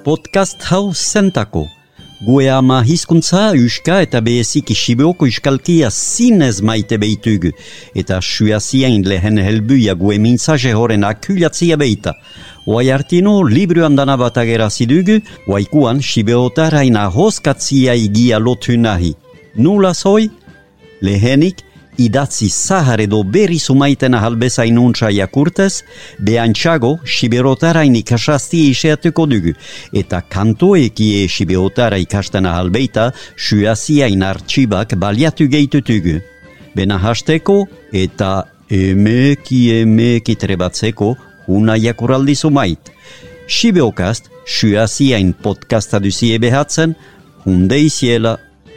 Podcast hau zentako. Gue ama hizkuntza, euska eta beheziki Sibeoko euskalkia zinez maite behitugu. Eta suaziain lehen helbuia gue mintzaje horren akulatzia behita. Oai artino, libruan dana bat agerazidugu, oaikuan Sibeotarain ahoskatzia igia lotu nahi. Nula zoi? Lehenik, idatzi zahar edo berri sumaiten ahalbezain untsa jakurtez, behantxago Siberotarain ikasazti iseatuko dugu, eta kantoekie Siberotara ikasten ahalbeita suaziain artxibak baliatu gehitutugu. Bena hasteko eta emeki trebatzeko una jakuraldi sumait. Sibeokast, suaziain podcasta duzie behatzen, hunde iziela.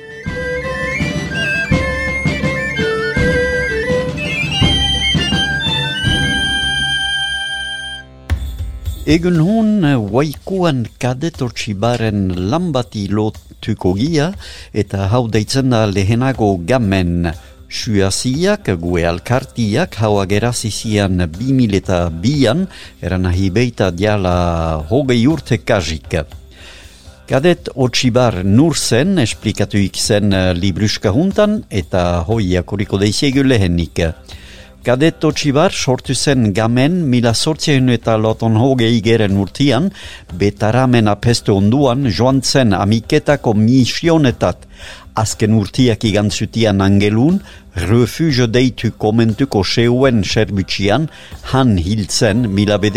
Egun hon, waikuan kadetortsibaren lambati lotuko gia, eta hau deitzen da lehenago gamen. Suaziak, gue alkartiak, hau agerazizian 2002an, eran ahi beita diala hogei urte kajik. Kadet otxibar nur zen, esplikatuik zen libruska juntan, eta hoi akuriko deizegu lehenik. Kadet otxibar sortu zen gamen 1880 urtian, betaramen apestu onduan joan zen amiketako misionetat. Azken urtiak igantzutian angelun, refugio deitu komentuko seuen serbutxian, han hiltzen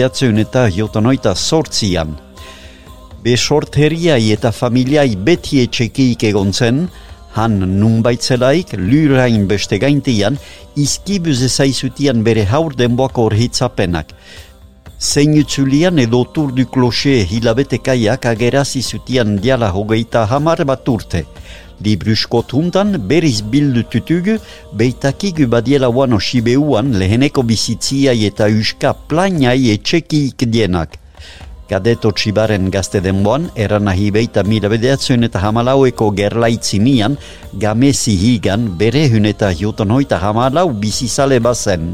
1908an. Besorteriai eta familiai beti etxekiik egon zen, han nunbaitzelaik, lurain beste gaintian, izkibuz ezaizutian bere haur denboako orhitzapenak. Zeinutzulian edo tur du kloxe hilabetekaiak agerazizutian diala hogeita hamar bat urte. Libruskot huntan beriz bildututugu, beitakigu badiela wano Sibeuan leheneko bizitziai eta euska plainai etxekiik dienak. Kadet otxibaren gazte denboan, eran ahi beita 1914eko gerlaitzinian, gamezi higan bere hun eta 1914 bizizale bazen.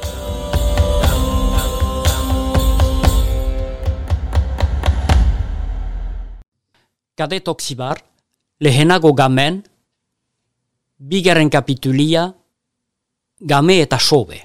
Kadet otxibar, lehenago gamen, bigarren kapitulia, game eta sobe.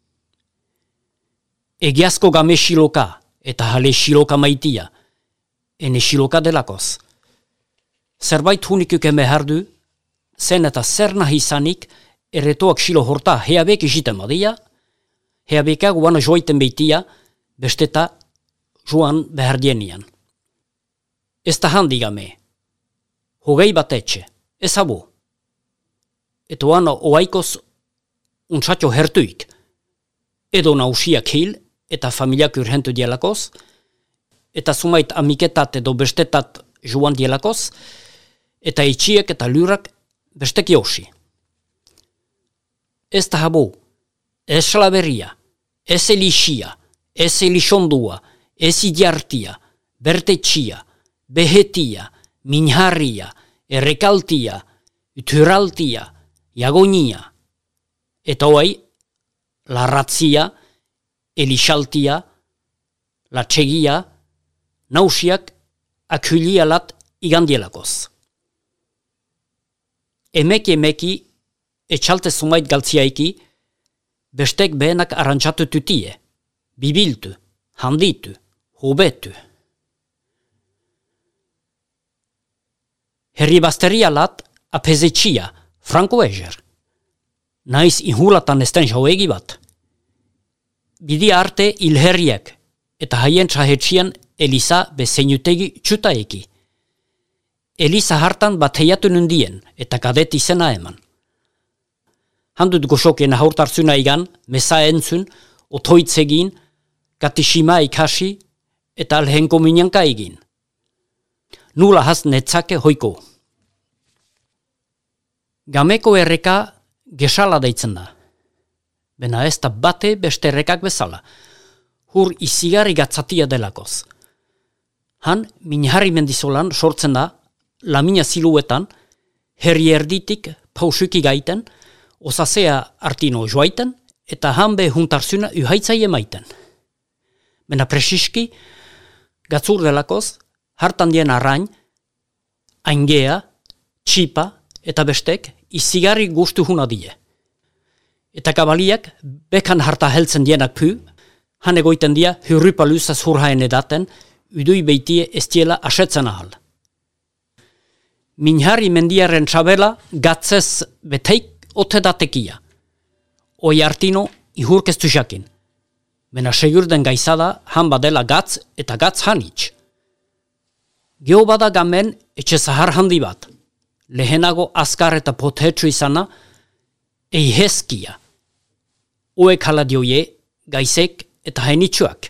Egiazko game xiloka, eta hale xiloka maitia, ene xiloka delakoz. Zerbait hunikuk emehardu, zen eta zer nahi izanik, erretoak xilo horta heabek isiten badia, heabekak guano joiten beitia, besteta joan behardienian. Ez da handi game, hogei bat etxe, ez abo. Eta guano oaikoz untsatxo hertuik, edo nausiak hil, eta familiak urhentu dielakoz, eta sumait amiketat edo bestetat joan dielakoz, eta etxiek eta lurak bestek josi. Ez da habo, ez slaveria, ez elixia, ez elixondua, ez idiartia, bertetxia, behetia, minharria, errekaltia, uturaltia, jagonia, eta hoai, larratzia, elixaltia, latxegia, nausiak akulialat igandielakoz. Emeki, etxalte sumait galtziaiki, bestek behenak arrantzatu tutie, bibiltu, handitu, hobetu. Herri basterialat apezetxia, franko eger. Naiz inhulatan esten joegi bat. Bidi arte ilherriak, eta haien txahetxian Elisa bezeinutegi txutaeki. Elisa hartan bat heiatu nundien, eta kadet izena eman. Handut goxokien haurtarzuna igan, mesa entzun, otoitzegin, katishima ikasi, eta alhenko minyanka egin. Nula haz netzake hoiko. Gameko erreka gesala deitzen da. Bena ez da bate beste errekak bezala. Hur izigarri gatzatia delakoz. Han, minharri mendizolan sortzen da, lamina siluetan, herri erditik pausuki gaiten, osasea artino joaiten, eta hanbe juntarzuna uhaitzaie maiten. Bena presiski, gatzur delakoz, hartan dien arrain, aingea, txipa eta bestek izigarri gustu huna die. Eta kabaliak bekan harta heltzen dienak py, han egoiten dia hyrrypa lysas hurhaen edaten, ydui beitie estiela asetzen ahal. Minhari mendiaren txabela gatzez beteik otedatekia. Oi artino ihurkeztu jakin. Mena segurden gaizada han badela gatz eta gatz hanitz. Geo bada gamen etxe zahar handi bat. Lehenago azkar eta potetsu izana eiheskia. Oek haladioie, gaizek eta hainitsuak.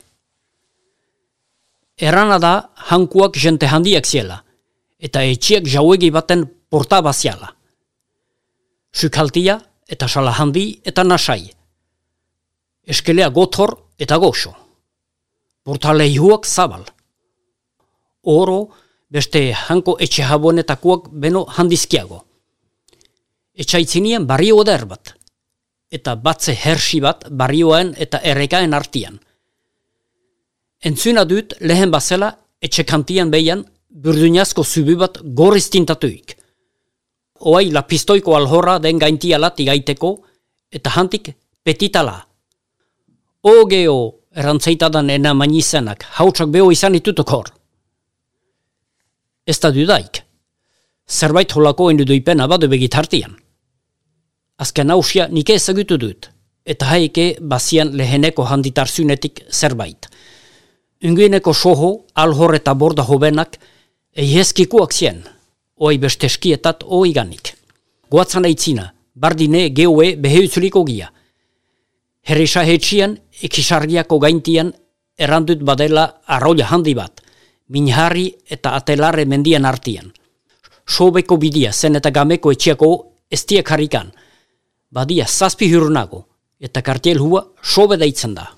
Erana da hankuak jente handiak ziela, eta etxiak jauegi baten porta baziala. Sukaltia eta sala handi eta nasai. Eskelea gotor eta goxo. Portaleihuak zabal. Oro beste hanko etxe habonetakoak beno handizkiago. Etxaitzinien barrio eder bat, eta batze hersi bat barrioen eta errekaen artian. Entzuna dut lehen bazela etxekantian behian burdunazko zubi bat gorriz tintatuik. Oai lapistoiko alhorra den gaintialat igaiteko eta hantik petitala. Ogeo erantzaitadan ena manizenak hautsak beho izan itutuk hor. Ez da dudaik. Zerbait holako enduduipen abadu begitartian. Azken hausia nike ezagutu dut, eta haike bazian leheneko handitarzunetik zerbait. Unguineko soho, alhor eta borda hobenak, eiheskikuak zien, oi beste eskietat oiganik. Goatzan aitzina, bardine geue beheutzuliko gia. Herrisa hetxian, ekisargiako gaintian, erandut badela arroila handi bat, minharri eta atelarre mendian artian. Sobeko bidia zen eta gameko etxiako estiek harrikan, badia zazpi hurnago, eta kartiel hua sobe deitzen da.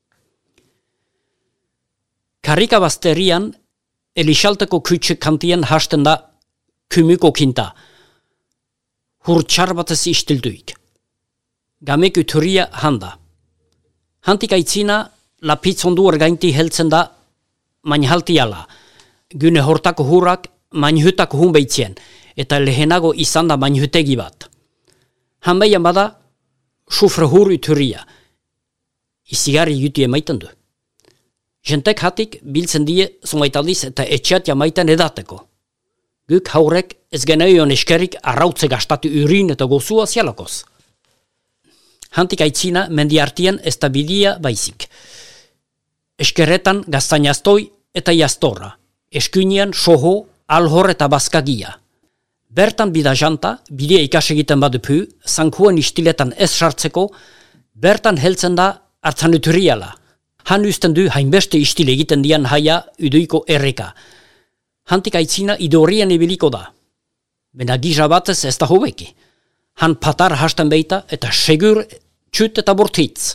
Karrika bazterian, elixalteko kütxe kantian hasten da kymyko kinta, hurtxar batez istilduik. Gameku turia handa. Hantik aitzina, lapitzondu ergainti heltzen da mainhaltiala, gyne hortako hurrak mainhutako hunbeitzien, eta lehenago izan da mainhutegi bat. Hanbeian bada, sufre hurri turia. Izigarri jutu emaiten du. Jentek hatik biltzen die zumaitaldiz eta etxeat jamaiten edateko. Guk haurek ez geneion eskerik arrautze gastatu urin eta gozua zialakoz. Hantik aitzina mendiartien ez da bidia baizik. Eskeretan gaztainaztoi eta jastorra. Eskuinian soho, alhor eta bazkagia. Bertan bida janta, bidea ikas egiten badupu, zankuen istiletan ez sartzeko, bertan heltzen da hartzanuturiala. Han usten du hainbeste istile egiten dian haia uduiko erreka. Hantik aitzina idorien ibiliko da. Bena giza batez ez da hobeki. Han patar hasten beita eta segur txut eta bortitz.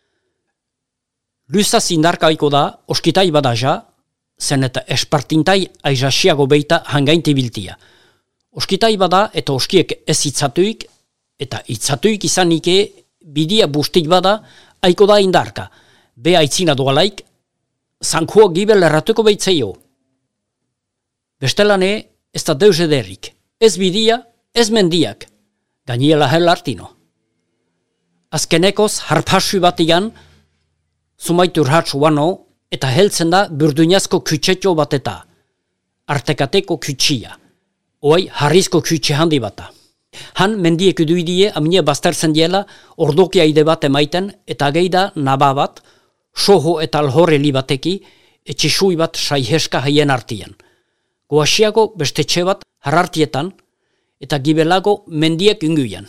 Luzaz indarkaiko da, oskitai badaja, zen eta espartintai aizasiago beita hangainti biltia. Oskitai bada eta oskiek ez itzatuik, eta itzatuik izanike bidia bustik bada aiko da indarka. Be aitzina doalaik, zankua gibel erratuko beitzeio. Bestelane ez da deus ederrik, ez bidia, ez mendiak, gainiela hel artino. Azkenekoz harpasu batigan, zumaitur hatsu wano, eta heltzen da burdunazko kütsetxo bateta, artekateko kütsia. Oai harrizko kütxe handi bata. Han mendiek uduidie amine baztertzen diela ordokia ide bat emaiten eta geida naba bat, soho eta alhorre li bateki, etxisui bat saiheska haien artian. Goasiago beste txe bat harartietan eta gibelago mendiek unguian.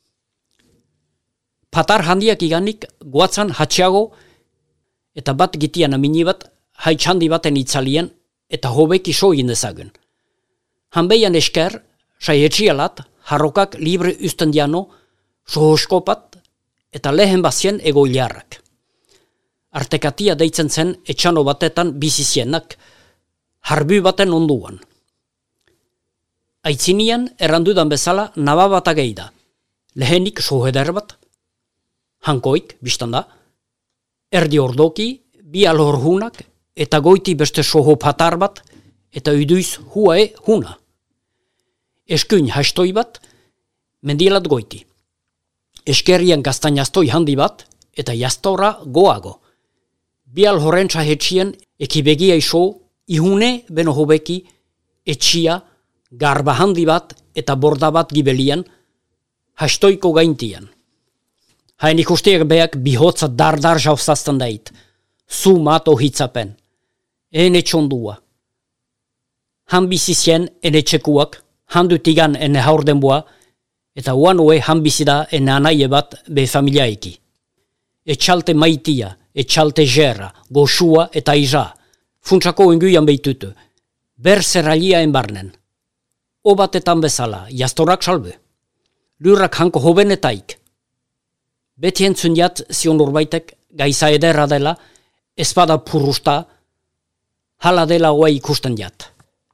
Patar handiak iganik goatzan hatxiago eta bat gitian amini bat haitxandi baten itzalien eta hobeki soin dezagun. Hanbeian esker, saietxialat, harrokak libre usten diano, sohoskopat eta lehen bazien egoiliarrak. Artekatia deitzen zen etxano batetan bizizienak, harbu baten onduan. Aitzinian errandudan bezala naba bat ageida, lehenik soheder bat, hankoik, biztanda, erdi ordoki, bi alhorhunak eta goiti beste soho patar bat, eta uduiz huae huna. Eskuin hastoi bat, mendielat goiti. Eskerrian gaztainaztoi handi bat, eta jastora goago. Bial horrentza hetxien ekibegia iso, ihune beno hobeki, etxia, garba handi bat eta borda bat gibelian, hastoiko gaintian. Hain ikustiak beak bihotza dardar jauzazten dait, zu mat ohitzapen, ene txondua. Han bizizien ene txekuak, handutigan ene haurdenboa, eta uan oe han bizida ene anaie bat be familiaiki. Etxalte maitia, etxalte gerra, goxua eta iza, funtsako enguian beitutu, ber zerralia enbarnen. Obatetan bezala, jastorak salbe. Lurrak hanko hobenetaik. Beti entzun jat zion urbaitek gaiza ederra dela, espada purusta, hala dela oa ikusten jat.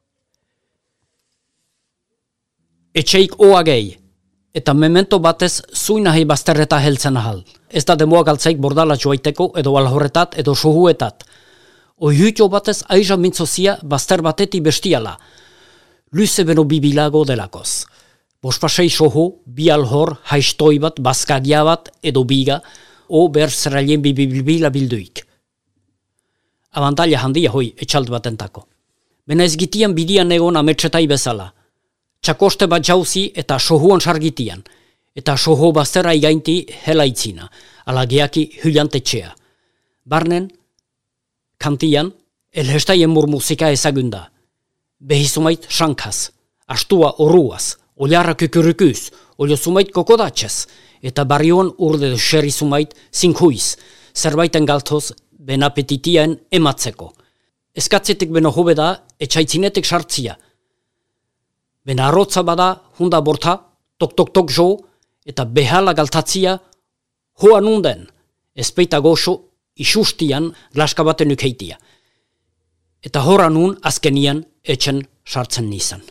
Etxeik oa gehi, eta memento batez zuinahi bazterreta heltzen ahal. Ez da demoa galtzaik bordala joaiteko edo alhorretat edo sohuetat. Oihuitio batez aiza mintzozia bazter bateti bestiala. Luze beno bibilago delakoz. Bospasei soho, bi alhor, haistoi bat, bazkagia bat edo biga, o ber zerrailien bibila bilduik. Abantaila handia hoi etxalt batentako. Bena ezgitian bidian egon ametsetai bezala. Txakoste bat jauzi eta sohuan sargitian, eta soho bazterra igainti helaitzina, alageaki hyllantetxea. Barnen, kantian, elhestaien murmusika ezagunda. Behizumait sankaz, astua oruaz, oliarra kukurukuz, oliosumait kokodatxez, eta barioan urde xerizumait zinkuiz, zerbaiten galtoz ben apetitiaen ematzeko. Eskatzetik beno hobe da, etxaitzinetik sartzia. Ben arrotza bada, hunda borta, tok jo, eta behala galtatzia, hoa nunden, ezpeita goxo, isustian glaska baten ukeitia. Eta horra nun azkenian etxen sartzen nizan.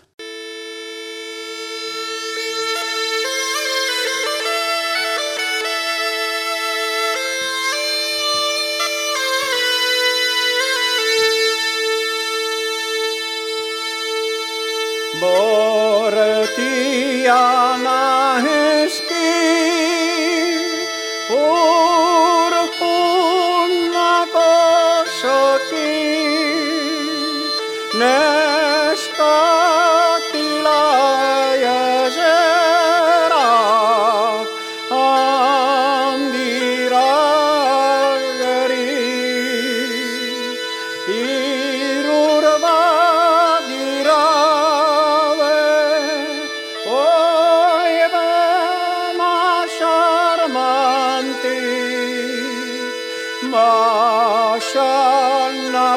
Bortiana heski urhunna kosoki neskatila jezera andirageri irurbagira Mashan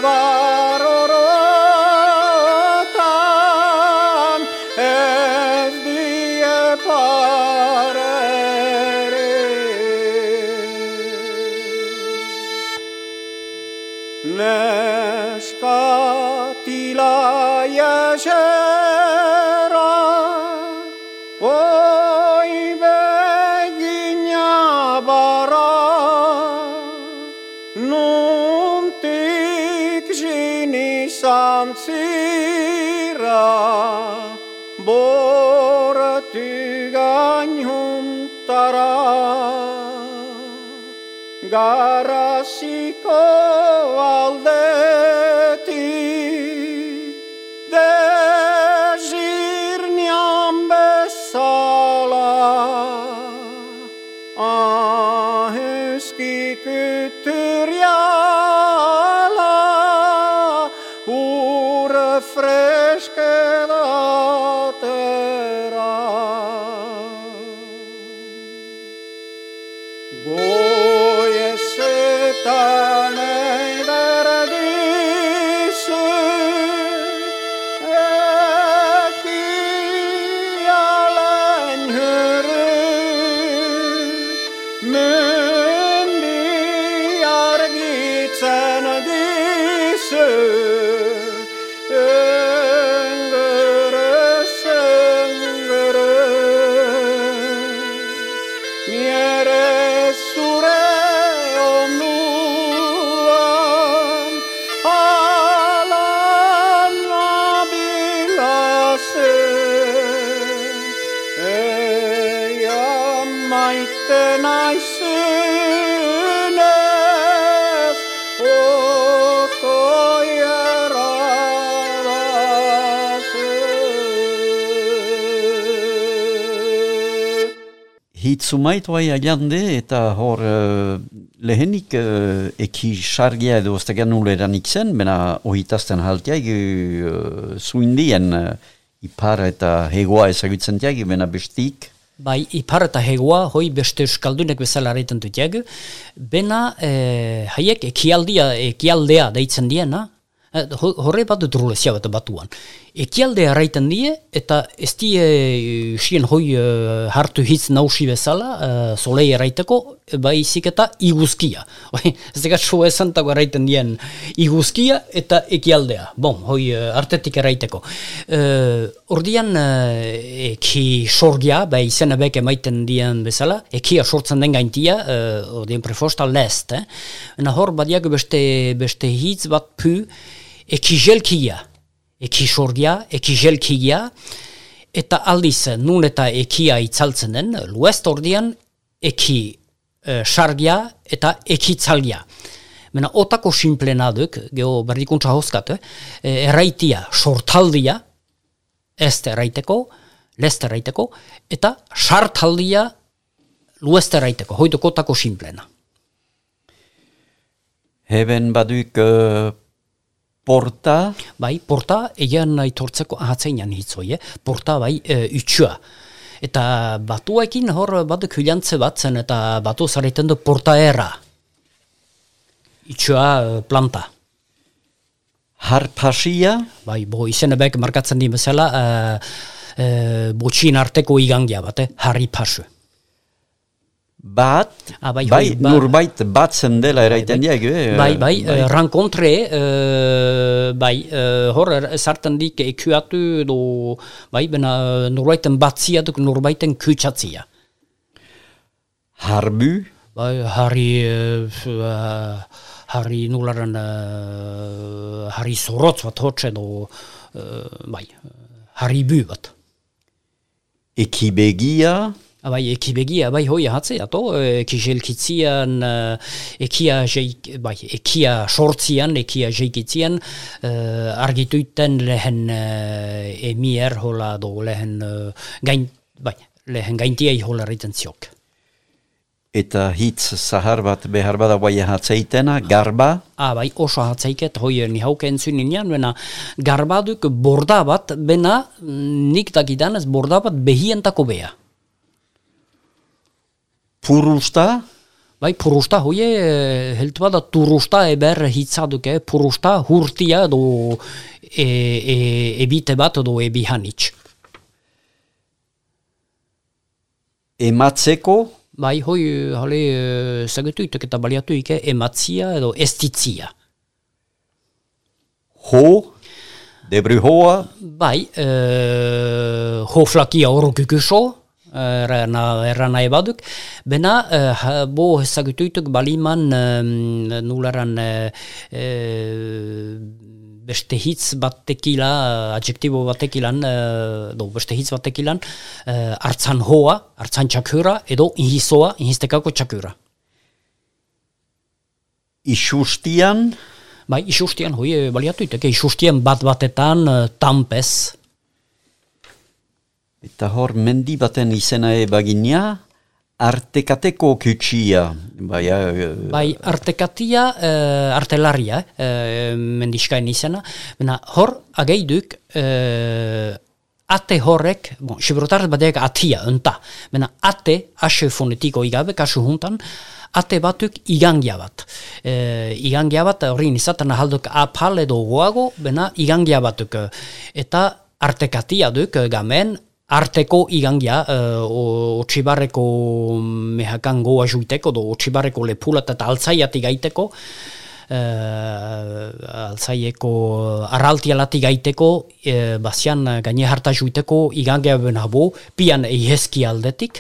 Navarorotan ez die parere Neskatila jesera oi begina bara Nuntik jini samtsira bortygan huntara garasiko aldeti dezirniam besala aheski kytyriala ure freskedatera goje setane derdisy alen hyry Mendi argitsen disse engere miere sure omnuan alana Hitzumait bai agande eta hor lehenik eki sargia edo ez da nuleranik zen, bena ohitazten haltiag zuindien ipar eta hegoa ezagutzen tiag, bena bestik. Bai, ipar eta hegoa, hoi beste euskaldunek bezala arretan dutiag, bena haiek ekialdea deitzen diena, horre bat dut rulezia bat batuan. Ekialdea arraiten die, eta ez die sien hoi hartu hitz nausi bezala, solei arraiteko, baizik eta iguzkia. Ez dekat so esantako arraiten dien iguzkia eta ekialdea. Bon, hoi artetik arraiteko. Ordian eki sorgia, bai izena beke maiten dien bezala, ekia sortzen den gaintia, ordian prefosta lest. Hor badiak beste hitz bat pu, eki jelkia. Eki sorgia, eki jelkia, eta aldiz nun eta ekia itzaltzen den, luest ordian eki sargia eta eki tzalgia. Mena otako simplena duk, geho berdikuntza hozkat, erraitia sortaldia, este erraiteko, leste erraiteko, eta sartaldia lueste erraiteko, hoiduk otako simplena. Heben baduk porta? Bai, porta, egan aitortzeko ahatzeinan hitzoi, porta bai utxua. Eta batuekin hor baduk hilantze bat zen, eta batu zareiten du portaera. Utxua planta. Harpasia? Bai, izenebek markatzen di bezala, botxin arteko igangia bat, harripasu. Bat, bai, nurbait batzen dela eraiten diag. Bai, renkontre, bai, hor zartan dik ekuatu edo, bai, bena nurbaiten batzia duk nurbaiten kutsatzia. Harbu? Bai, harri nularan, harri sorotz bat hotxe edo, bai, harri bu bat. Ekibegia? Bai, ekibegia, bai, hoi ahatzea, eki jelkitzian, ekia sortzian, ekia jeikitzian, argituiten lehen emier hola do, lehen gaintiai hola riten ziok. Eta hitz zahar bat behar bada bai ahatzeitena, garba? Bai, oso ahatzeiket, hoi nihauke entzunin bena garbaduk borda bat, bena nik dakidanez borda bat behientako beha. Purusta? Bai, purusta, hoie, heltu bada turusta eber hitzaduke, purusta hurtia edo ebite bat edo ebihanitz. Ematzeko? Bai, hoi, hale, zagetuitek eta baliatuike, ematzia edo estitzia. Ho? Debru hoa? Bai, hoflakia orokukuso, errana ebaduk, bena bo ezagutuituk baliman nularan beste hitz batekila, adjektibo batekilan, beste hitz batekilan, hartzan hoa, hartzan txakura, edo inhizoa, inhistekako txakura. Isustian? Bai, isustian, hoi baliatuitek, isustian bat-batetan tampez. Eta hor mendi baten izena baginia, artekateko kutsia. Bai, artekatia, artelaria, mendiskain izena. Bena, hor, ageiduk, ate horrek, xibrotarez badeak atia, enta. Bena, ate, ase fonetiko igabe, kasu juntan, ate batuk igangia bat. Igangia bat, horrein izaten ahalduk apal edo goago, bena, igangia batuk. Eta artekatia duk, gamen, arteko igangia, otxibarreko mehakan goa juiteko, otxibarreko lepulat eta altzaiati gaiteko, altzaieko arraltialati gaiteko, bazian gaine harta juiteko igangia benabo, pian eihezki aldetik,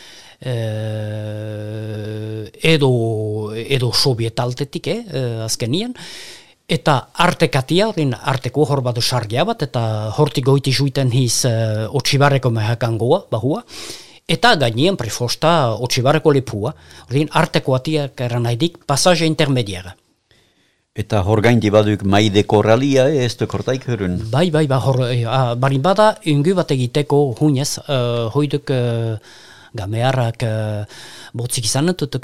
edo soviet aldetik, azkenien, eta artekatia, arteko hor bat sargia bat, eta hortik goiti juiten hiz otxibarreko mehakangoa, bahua, eta gainien prefosta otxibarreko lepua, arteko atiak eranaidik pasaje intermediara. Eta hor gaindi baduk maide korralia, ez du kortaik hurun? Bai, hor, barin bada, ungu bat egiteko hunez, hoiduk gamearrak botzik izan dut,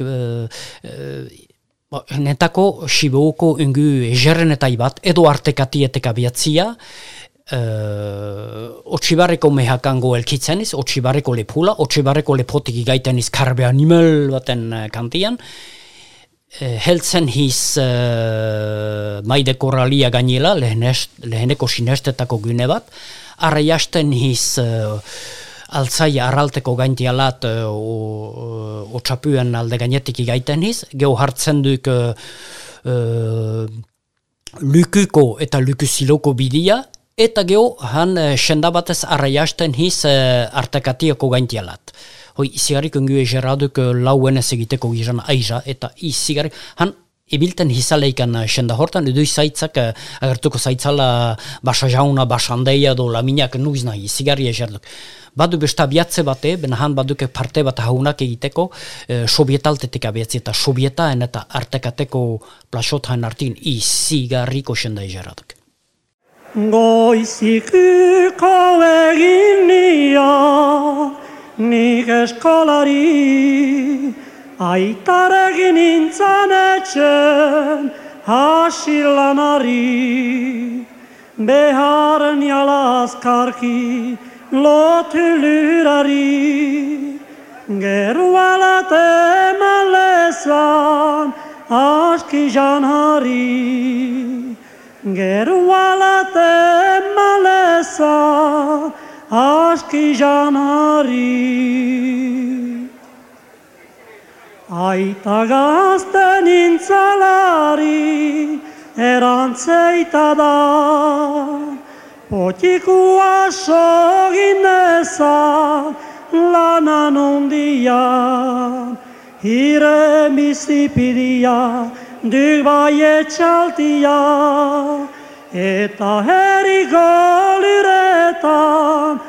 netako Sibeuko ungu ejerrenetai bat, edo artekatietek abiatzia, Otxibarreko mehakango elkitzeniz, Otxibarreko lepula, Otxibarreko lepotik igaiteniz karbe animal baten kantian, heltzen hiz maide korralia gainela, leheneko sinestetako gune bat, arraiasten hiz altzaia arralteko gaintialat otxapuen alde gainetik igaiten hiz, geho hartzen duk lukuko eta lukusiloko bidia, eta geho han sendabatez arraiasten hiz artekatiako gaintialat. Hoi, izigarik ungu egeraduk lauen ez egiteko gizan aiza, eta izigarik, han ibilten hizaleikan senda hortan, edo izaitzak agertuko zaitzala basa jauna, basa handeia do laminak nuiz nahi, izigari egeraduk. Badu besta abiatze bate, benahan baduke parte bat haunak egiteko, sobietaltetik abiatzi eta sobietaen eta artekateko plasotaen artin izigarriko senda egeraduk. Goizikuko egin nian, nik eskolari, aitarekin nintzen etxen hasilanari. Beharen jalazkarki lotulurari, gerualat eman lezan aski janari. Gerualat eman lezan aski janari. Aita gazte nintzalari erantzeita da, potikua sogin dezan lanan undian, hire bizipidia duk bai etxaltia, eta herriko luretan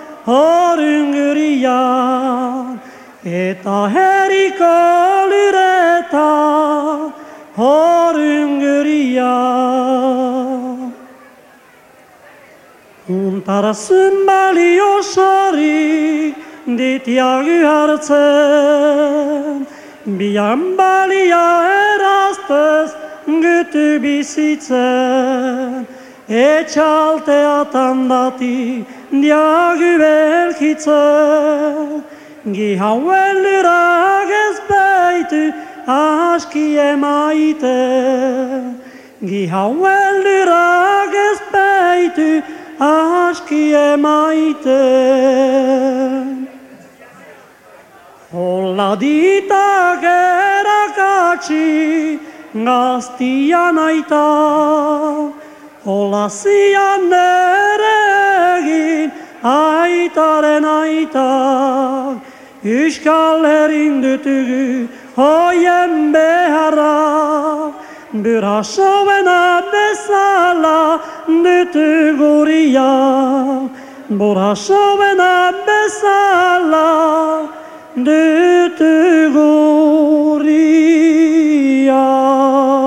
horungurian, eta herriko luretan horungurian. Untarazun balio sari ditiagu hartzen, bian balia eraztez gütu bizitzen, etxalteatan dati diagu belkitzen, gihauen lurak ez beitu aski emaiten, gihauen lurak ez beitu aski emaiten. Hola ditak erakatsi gaztian aita, hola zian neregin aitaren aita, Euskal Herrin dutugu hoien beharra, burasoena bezala dutuguria, burasoena bezala dutuguria.